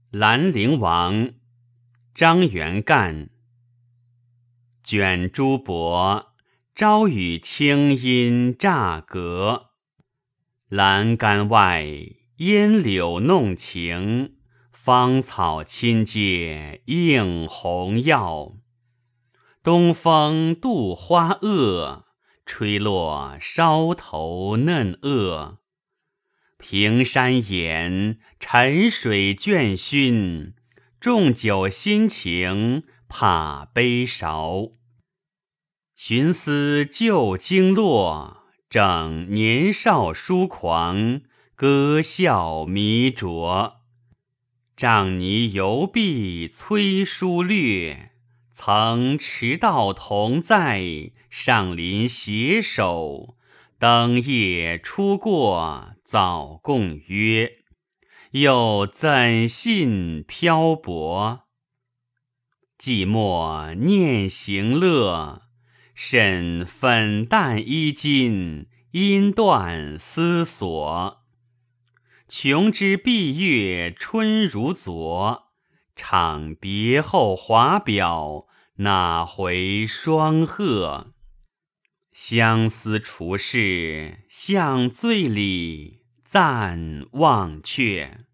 兰陵王，张元干。卷珠帛，朝雨清阴乍隔。栏杆外，烟柳弄晴，芳草亲接映红耀。东风度花萼，吹落梢头嫩萼。平山岩，沉水倦熏，重酒心情怕杯韶。寻思旧经络，正年少疏狂，歌笑迷浊。杖泥犹碧催书略，曾迟到同在，上林携手。灯夜初过，早共约，又怎信漂泊？寂寞念行乐，甚粉淡衣襟，音断思索。穷知闭月春如昨，怅别后华表，哪回双鹤？相思除事向醉里，暂忘却。